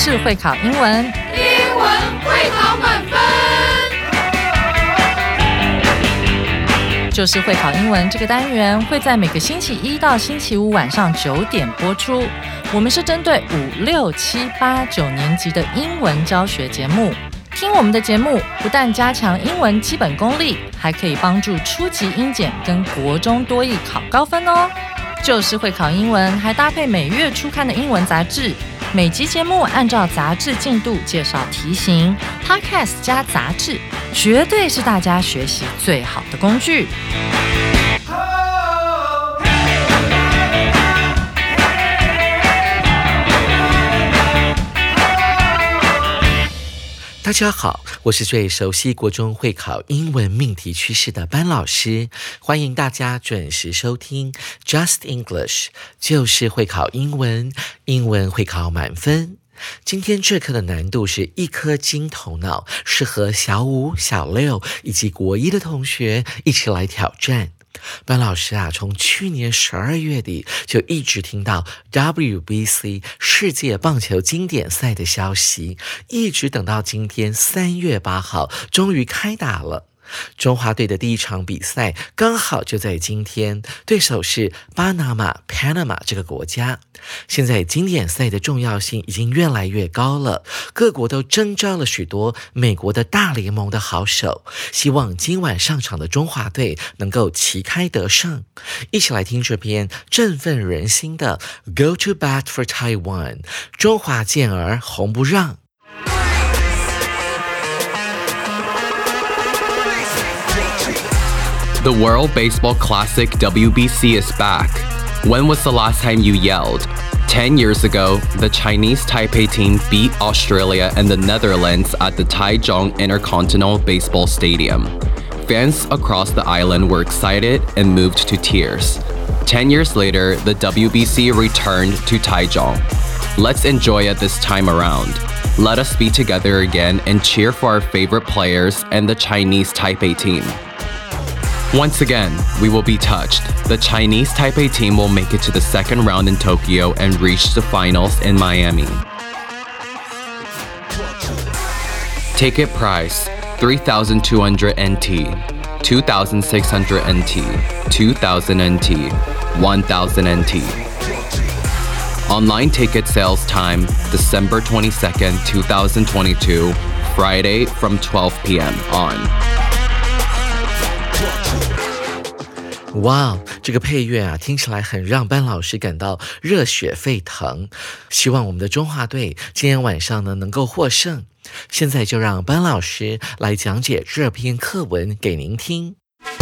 就是会考英文， 英文会考满分。 就是会考英文这个单元会在每个星期一到星期五晚上9点播出。我们是针对5、6、7、8、9年级的英文教学节目。听我们的节目，不但加强英文基本功力，还可以帮助初级英检跟国中多益考高分哦。就是会考英文，还搭配每月初刊的英文杂志。每集节目按照杂志进度介绍题型 ，Podcast 加杂志，绝对是大家学习最好的工具。 大家好，我是最熟悉国中会考英文命题趋势的班老师，欢迎大家准时收听 Just English， 就是会考英文，英文会考满分。今天这课的难度是一颗金头脑，适合小5、小6以及国1的同学一起来挑战。班老师从去年12月底就一直听到 WBC 世界棒球经典赛的消息，一直等到今天3月8号，终于开打了。中华队的第一场比赛刚好就在今天，对手是巴拿马 Panama 这个国家。现在经典赛的重要性已经越来越高了，各国都征召了许多美国的大联盟的好手，希望今晚上场的中华队能够旗开得胜。一起来听这篇振奋人心的 Go to Bat for Taiwan， 中华健儿红不让。 The World Baseball Classic WBC is back. When was the last time you yelled? 10 years ago, the Chinese Taipei team beat Australia and the Netherlands at the Taichung Intercontinental Baseball Stadium. Fans across the island were excited and moved to tears. 10 years later, the WBC returned to Taichung. Let's enjoy it this time around. Let us be together again and cheer for our favorite players and the Chinese Taipei team.Once again, we will be touched. The Chinese Taipei team will make it to the second round in Tokyo and reach the finals in Miami. Ticket price, 3,200 NT, 2,600 NT, 2,000 NT, 1,000 NT. Online ticket sales time, December 22nd, 2022, Friday from 12 p.m. on. 哇，这个配乐听起来很让班老师感到热血沸腾。希望我们的中华队今天晚上能够获胜。现在就让班老师来讲解这篇课文给您听。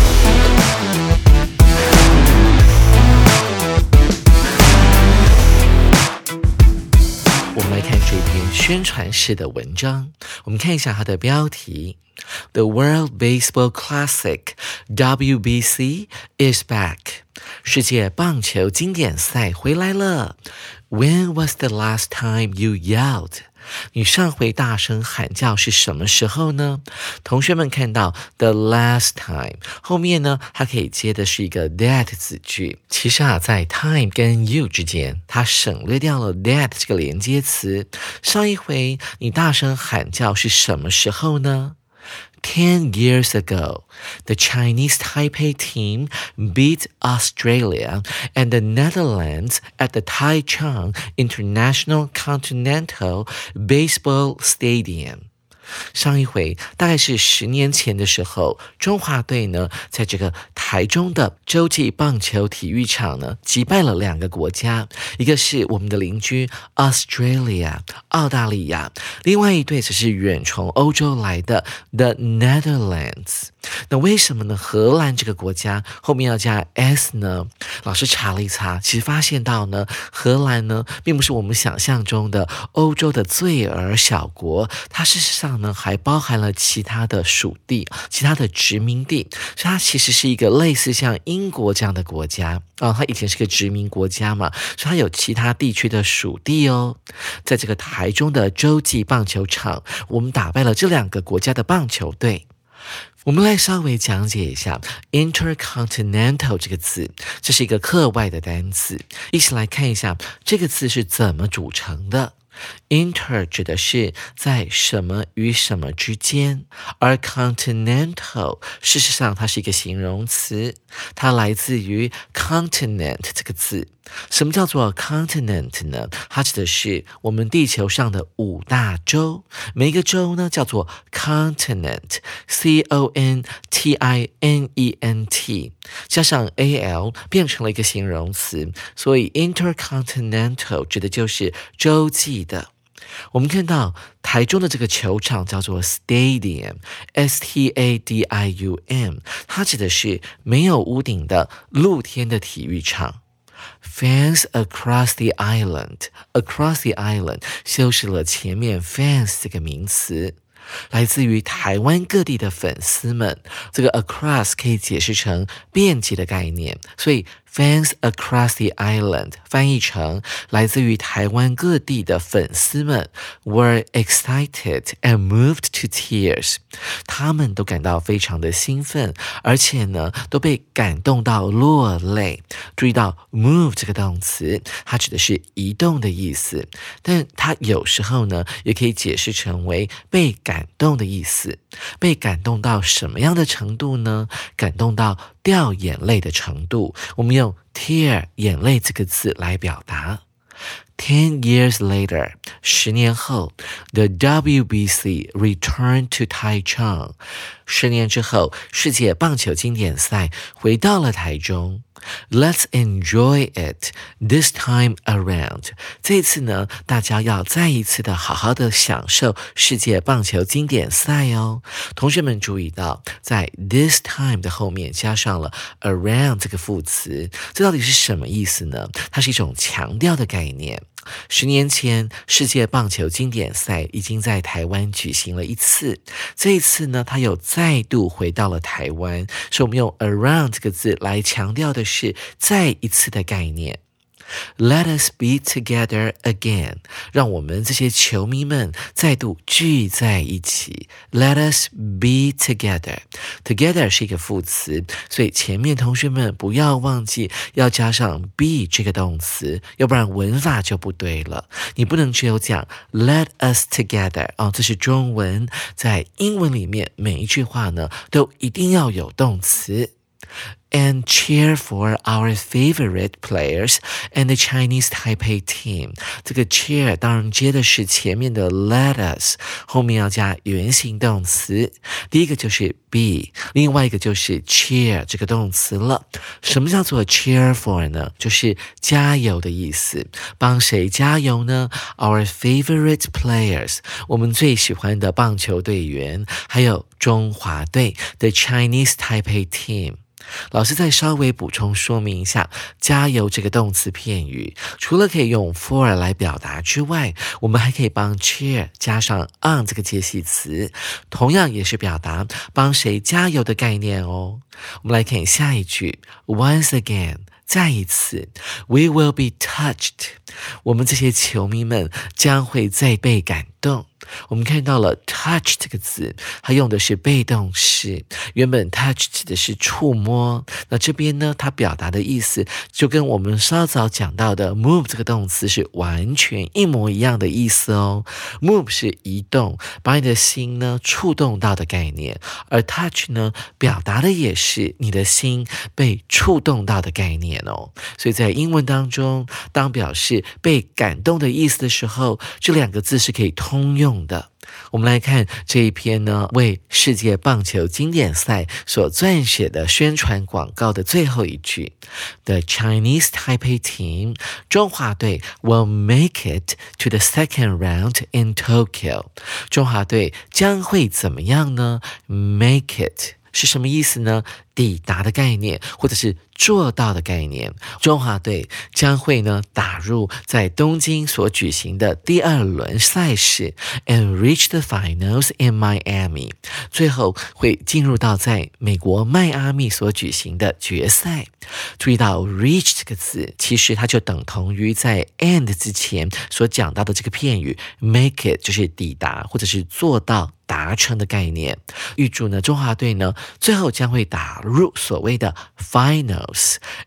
我们来看这篇宣传式的文章，我们看一下它的标题。The World Baseball Classic WBC is back. 世界棒球经典赛回来了。When was the last time you yelled? 你上回大声喊叫是什么时候呢？同学们看到 the last time 后面呢，它可以接的是一个 that 子句。其实在 time 跟 you 之间，它省略掉了 that 这个连接词。上一回你大声喊叫是什么时候呢？10 years ago, the Chinese Taipei team beat Australia and the Netherlands at the Taichung International Continental Baseball Stadium.上一回大概是10年前的时候，中华队呢在这个台中的洲际棒球体育场呢击败了2个国家，一个是我们的邻居 Australia 澳大利亚，另外一队则是远从欧洲来的 The Netherlands。那为什么呢？荷兰这个国家后面要加 s 呢？老师查了一查，其实发现到呢，荷兰呢并不是我们想象中的欧洲的罪儿小国，它事实上呢还包含了其他的属地、其他的殖民地，所以它其实是一个类似像英国这样的国家它以前是个殖民国家嘛，所以它有其他地区的属地哦。在这个台中的洲际棒球场，我们打败了这2个国家的棒球队。我们来稍微讲解一下 intercontinental 这个字，这是一个课外的单词，一起来看一下这个字是怎么组成的。 Inter 指的是在什么与什么之间，而 continental 事实上它是一个形容词，它来自于 continent 这个字。什么叫做 continent 呢？它指的是我们地球上的5大洲，每一个洲呢叫做 continent， C-O-N-T-I-N-E-N-T， 加上 A-L 变成了一个形容词，所以 intercontinental 指的就是洲际的。我们看到台中的这个球场叫做 stadium， S-T-A-D-I-U-M， 它指的是没有屋顶的露天的体育场。Fans across the island， across the island 修饰了前面 fans 这个名词，来自于台湾各地的粉丝们。这个 across 可以解释成遍及的概念，所以Fans across the island 翻译成来自于台湾各地的粉丝们 were excited and moved to tears， 他们都感到非常的兴奋，而且呢都被感动到落泪。注意到 move 这个动词，它指的是移动的意思，但它有时候呢也可以解释成为被感动的意思。被感动到什么样的程度呢？感动到掉眼泪的程度，我们用 tear 眼泪这个字来表达。10 years later， 10年后 the WBC returned to Taichung， 10年之后世界棒球经典赛回到了台中。Let's enjoy it this time around。 这次呢，大家要再一次的好好的享受世界棒球经典赛哦。同学们注意到，在 this time 的后面加上了 around 这个副词，这到底是什么意思呢？它是一种强调的概念。10年前，世界棒球经典赛已经在台湾举行了一次，这一次呢，它又再度回到了台湾，所以我们用 around 这个字来强调的是再一次的概念。Let us be together again， 让我们这些球迷们再度聚在一起。Let us be together， together 是一个副词，所以前面同学们不要忘记要加上 be 这个动词，要不然文法就不对了。你不能只有讲 let us together， 这是中文，在英文里面每一句话呢都一定要有动词。And cheer for our favorite players and the Chinese Taipei team。 这个 cheer 当然接的是前面的 let us， 后面要加原形动词。第一个就是 be， 另外一个就是 cheer 这个动词了。什么叫做 cheer for 呢？就是加油的意思。帮谁加油呢？ Our favorite players， 我们最喜欢的棒球队员，还有中华队 The Chinese Taipei team。老师再稍微补充说明一下，加油这个动词片语，除了可以用 for 来表达之外，我们还可以帮 cheer 加上 on 这个介系词，同样也是表达帮谁加油的概念哦。我们来看下一句 Once again， 再一次 We will be touched， 我们这些球迷们将会再被感动。我们看到了 touch 这个字，它用的是被动式，原本 touch 指的是触摸，那这边呢，它表达的意思就跟我们稍早讲到的 move 这个动词是完全一模一样的意思哦。move 是移动，把你的心呢触动到的概念，而 touch 呢表达的也是你的心被触动到的概念哦。所以在英文当中，当表示被感动的意思的时候，这两个字是可以通用的。我们来看这一篇呢，为世界棒球经典赛所撰写的宣传广告的最后一句 The Chinese Taipei team， 中华队 will make it to the second round in Tokyo。 中华队将会怎么样呢？ Make it 是什么意思呢？抵达的概念，或者是做到的概念。中华队将会呢打入在东京所举行的第2轮赛事 and reach the finals in Miami， 最后会进入到在美国迈阿密所举行的决赛。注意到 reach 这个字，其实它就等同于在 and 之前所讲到的这个片语 make it， 就是抵达或者是做到达成的概念。预祝呢中华队呢最后将会打入所谓的 finals，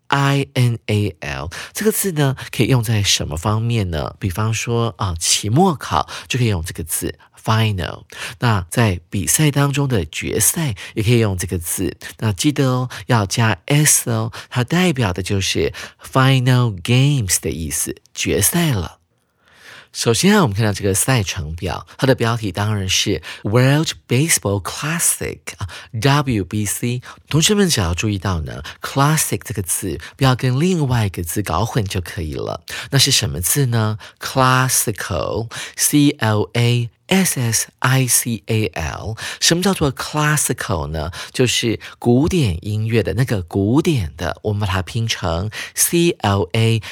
final 这个字呢，可以用在什么方面呢？比方说期末考就可以用这个字 final。那在比赛当中的决赛也可以用这个字。那记得哦，要加 s 哦，它代表的就是 final games 的意思，决赛了。首先我们看到这个赛程表，它的标题当然是 World Baseball Classic WBC。同学们只要注意到呢 Classic 这个字不要跟另外一个字搞混就可以了。那是什么字呢？ Classical CLASSICAL。 什么叫做 classical 呢？就是古典音乐的那个古典的，我们把它拼成 CLASSICAL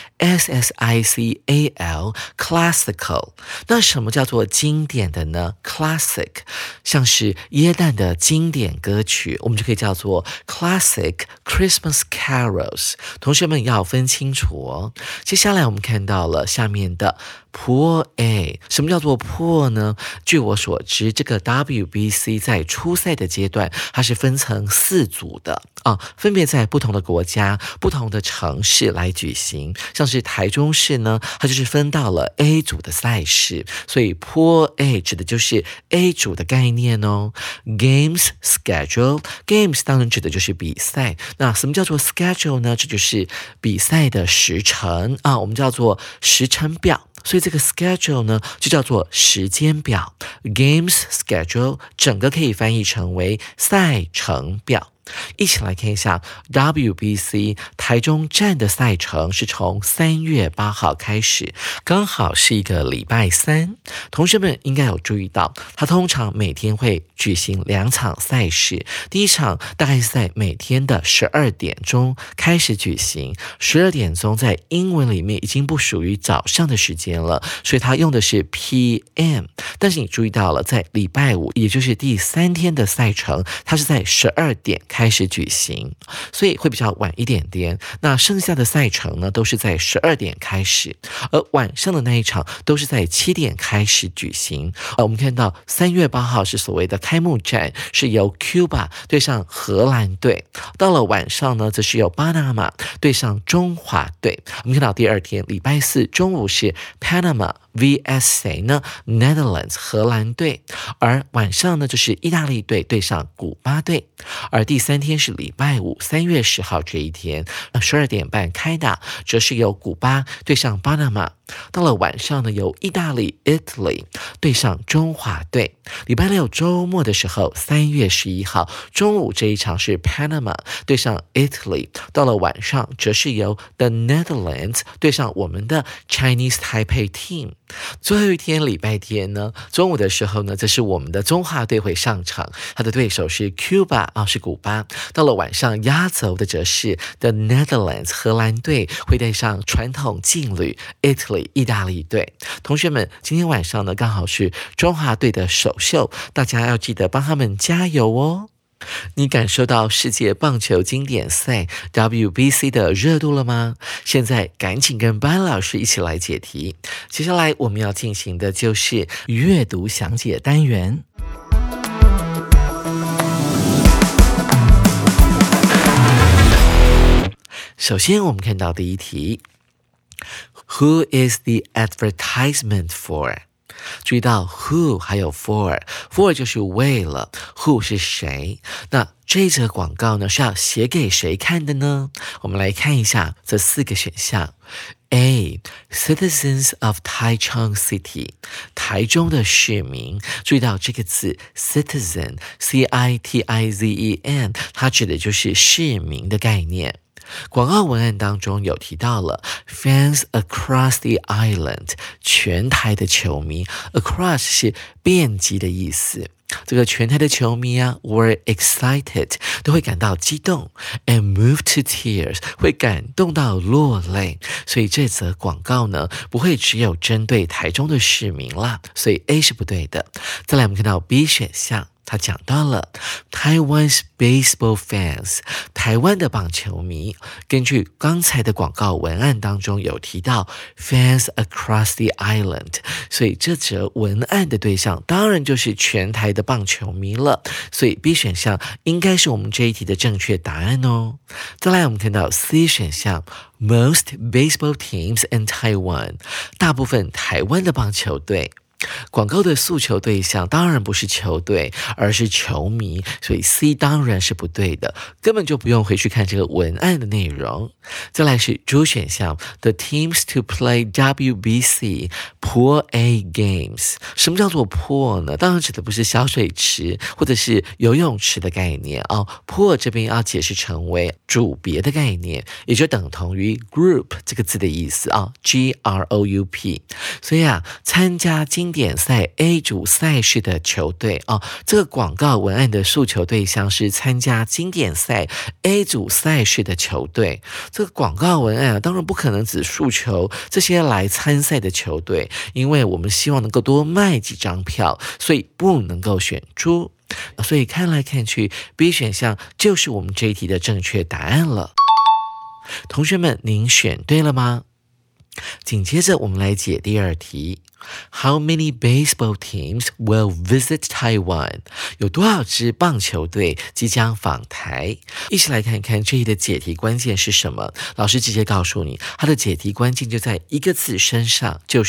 classical。 那什么叫做经典的呢？ Classic 像是耶诞的经典歌曲，我们就可以叫做 Classic Christmas Carols。 同学们要分清楚哦。接下来我们看到了下面的Pool A。 什么叫做 Pool 呢？据我所知，这个 WBC 在初赛的阶段它是分成4组的分别在不同的国家不同的城市来举行。像是台中市呢，它就是分到了 A 组的赛事，所以 Pool A 指的就是 A 组的概念哦。 Games schedule， Games 当然指的就是比赛。那什么叫做 schedule 呢？这就是比赛的时程我们叫做时程表。所以这个 schedule 呢就叫做时间表。 Games schedule 整个可以翻译成为赛程表。一起来看一下 WBC 台中站的赛程是从3月8号开始，刚好是一个礼拜三。同学们应该有注意到，它通常每天会举行2场赛事。第一场大概是在每天的12点钟开始举行。12点钟在英文里面已经不属于早上的时间了，所以它用的是 PM。 但是你注意到了，在礼拜五也就是第3天的赛程，它是在12点开始举行，所以会比较晚一点点。那剩下的赛程呢，都是在12点开始，而晚上的那一场都是在7点开始举行。我们看到3月8号是所谓的开幕战，是由 Cuba 对上荷兰队。到了晚上呢，则是由巴拿马对上中华队。我们看到第二天礼拜四中午是 Panama vs 谁呢？ Netherlands 荷兰队。而晚上呢，就是意大利队对上古巴队。而第3天是礼拜五3月10号这一天，12点半开打，则是由古巴对上巴拿马。到了晚上呢，由意大利 Italy 对上中华队。礼拜六周末的时候3月11号中午这一场是 Panama 对上 Italy。 到了晚上则是由 The Netherlands 对上我们的 Chinese Taipei Team。 最后一天礼拜天呢，中午的时候呢，这是我们的中华队会上场，他的对手是 Cuba 是古巴。到了晚上压轴的则是 The Netherlands 荷兰队会对上传统劲旅 Italy 意大利队。同学们，今天晚上呢刚好是中华队的首秀，大家要记得帮他们加油哦。你感受到世界棒球经典赛 WBC 的热度了吗？现在赶紧跟班老师一起来解题。接下来我们要进行的就是阅读详解单元。首先我们看到第一题， Who is the advertisement for？注意到 who 还有 for 就是为了， who 是谁。那这则广告呢是要写给谁看的呢？我们来看一下这4个选项。 A. Citizens of Taichung City 台中的市民。注意到这个字 citizen CITIZEN 它指的就是市民的概念。广告文案当中有提到了 fans across the island 全台的球迷， across 是遍及的意思。这个全台的球迷were excited 都会感到激动 and moved to tears 会感动到落泪。所以这则广告呢不会只有针对台中的市民啦，所以 A 是不对的。再来我们看到 B 选项， 他讲到了 Taiwan's baseball fans， 台湾的棒球迷。根据刚才的广告文案当中有提到 fans across the island， 所以这则文案的对象当然就是全台的棒球迷了，所以 B 选项应该是我们这一题的正确答案哦。再来我们看到 C 选项Most baseball teams in Taiwan， 大部分台湾的棒球队。广告的诉求对象当然不是球队，而是球迷，所以 C 当然是不对的，根本就不用回去看这个文案的内容。再来是主选项 The teams to play WBC Pool A games。 什么叫做 pool 呢？当然指的不是小水池或者是游泳池的概念哦。pool 这边要解释成为组别的概念，也就等同于 group 这个字的意思啊 ，GROUP。所以参加经典赛 A 组赛事的球队这个广告文案的诉求对象是参加经典赛 A 组赛事的球队。这个广告文案当然不可能只诉求这些来参赛的球队，因为我们希望能够多卖几张票，所以不能够选猪。所以看来看去 B 选项就是我们这一题的正确答案了。同学们，您选对了吗？紧接着我们来解第二题。How many baseball teams will visit Taiwan？ 有多少支棒球队即将访台？一起来看看这一的解题关键是什么。老师直接告诉你，它的解题关键就在一个字身上，就是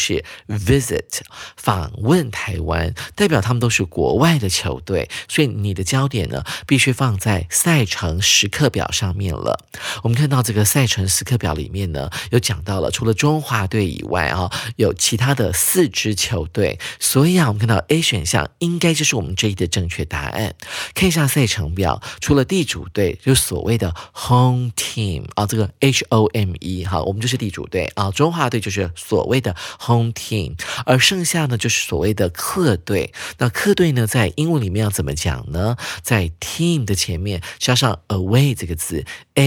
visit， 访问台湾，代表他们都是国外的球队，所以你的焦点呢，必须放在赛程时刻表上面了。我们看到这个赛程时刻表里面呢，有讲到了，除了中华队以外有其他的4支球队，所以我们看到 A 选项应该就是我们这一的正确答案。看一下赛程表，除了地主队，就是所谓的 home team 这个 HOME 我们就是地主队中华队就是所谓的 home team， 而剩下呢就是所谓的客队。那客队呢，在英文里面要怎么讲呢？在 team 的前面加上 away 这个字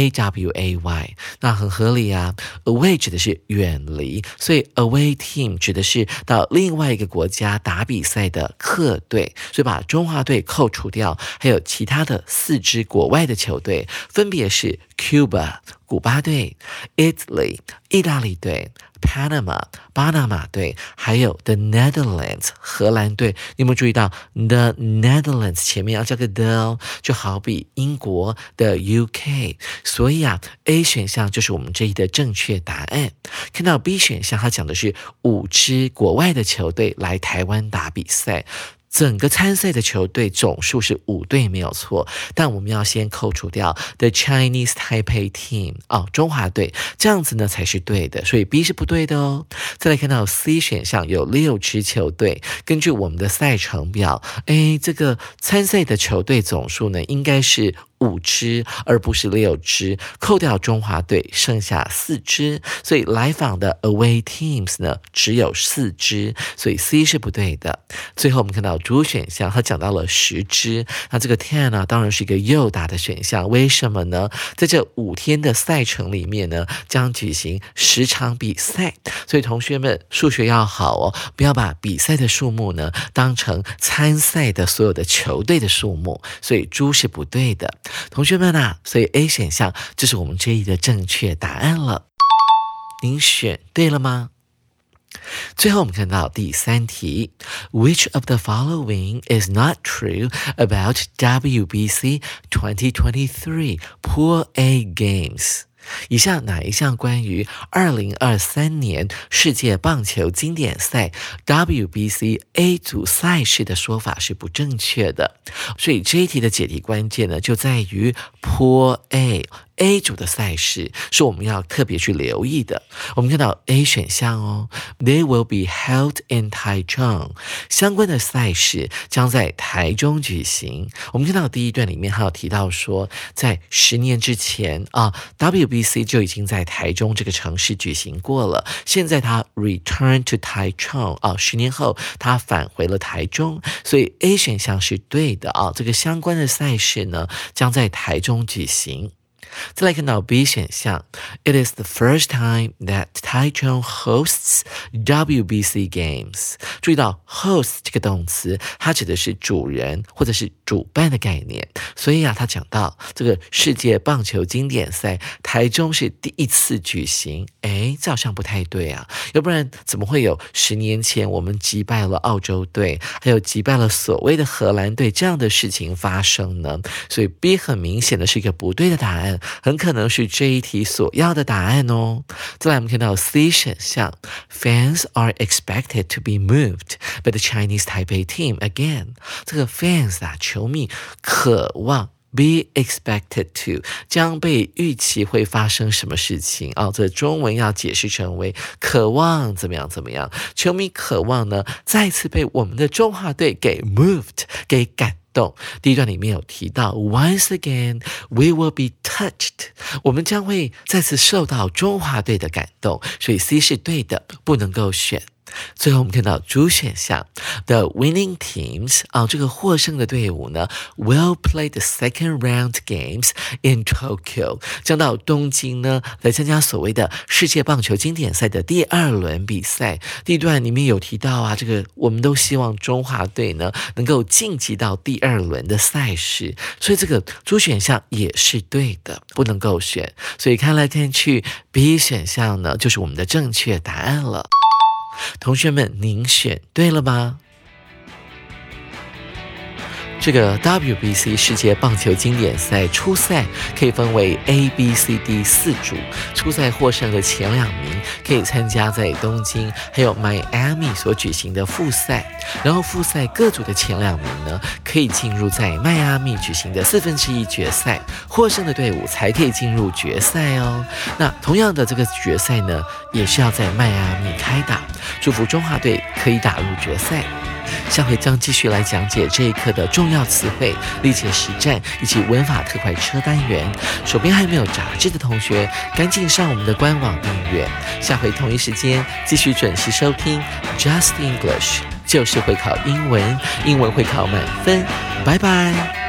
AWAY， 那很合理啊。away 指的是远离，所以 away team 指的是到另外一个国家打比赛的客队，所以把中华队扣除掉，还有其他的4支国外的球队，分别是 Cuba 古巴队、Italy 意大利队、Panama 巴拿马队，还有 The Netherlands 荷兰队。你有没有注意到 The Netherlands 前面要加个 the， 就好比英国的 UK。 所以A 选项就是我们这一的正确答案。看到 B 选项，它讲的是5支国外的球队来台湾打比赛。整个参赛的球队总数是5队没有错，但我们要先扣除掉 The Chinese Taipei Team 中华队，这样子呢才是对的，所以 B 是不对的哦。再来看到 C 选项有6支球队，根据我们的赛程表，这个参赛的球队总数呢应该是5支而不是6支，扣掉中华队剩下4支，所以来访的 away teams 呢只有4支，所以 C 是不对的。最后我们看到主选项，它讲到了10支，那这个 10当然是一个诱答的选项，为什么呢？在这5天的赛程里面呢，将举行10场比赛，所以同学们数学要好哦，不要把比赛的数目呢当成参赛的所有的球队的数目，所以猪是不对的。同学们所以 A 选项就是我们这一的正确答案了。您选对了吗？最后我们看到第3题 Which of the following is not true about WBC 2023 Pool A Games？以下哪一项关于2023年世界棒球经典赛 WBC A 组赛事的说法是不正确的？所以这一题的解题关键呢，就在于 Pool A 组的赛事是我们要特别去留意的。我们看到 A 选项They will be held in Taichung， 相关的赛事将在台中举行。我们看到第一段里面还有提到说，在10年之前WBC 就已经在台中这个城市举行过了，现在它 return to Taichung 10年后它返回了台中，所以 A 选项是对的这个相关的赛事呢将在台中举行。 再来看到 B 选项 It is the first time that Taichung hosts WBC games。 注意到 host 这个动词，它指的是主人或者是主办的概念，所以他讲到这个世界棒球经典赛台中是第一次举行，这好像不太对啊，要不然怎么会有10年前我们击败了澳洲队，还有击败了所谓的荷兰队这样的事情发生呢？所以 B 很明显的是一个不对的答案，很可能是这一题所要的答案哦。再来我们看到 C 选项 Fans are expected to be moved by the Chinese Taipei team again。 这个 fans 球迷渴望be expected to 将被预期会发生什么事情这中文要解释成为渴望怎么样怎么样，球迷渴望呢再次被我们的中华队给 moved 给感动。第一段里面有提到 Once again we will be touched， 我们将会再次受到中华队的感动，所以 C 是对的，不能够选。最后我们看到主选项 The winning teams 这个获胜的队伍呢 will play the second round games in Tokyo， 将到东京呢来参加所谓的世界棒球经典赛的第2轮比赛。第一段里面有提到这个我们都希望中华队呢能够晋级到第2轮的赛事，所以这个主选项也是对的，不能够选。所以看来看去 B 选项呢就是我们的正确答案了。同学们，您选对了吗？这个 WBC 世界棒球经典赛初赛可以分为 A、B、C、D 4组，初赛获胜的前2名可以参加在东京还有迈阿密所举行的复赛，然后复赛各组的前2名呢可以进入在迈阿密举行的1/4决赛，获胜的队伍才可以进入决赛哦。那同样的这个决赛呢也是要在迈阿密开打，祝福中华队可以打入决赛。下回将继续来讲解这一课的重要词汇、历届实战以及文法特快车单元。手边还没有杂志的同学，赶紧上我们的官网订阅。下回同一时间继续准时收听 Just English， 就是会考英文，英文会考满分。拜拜。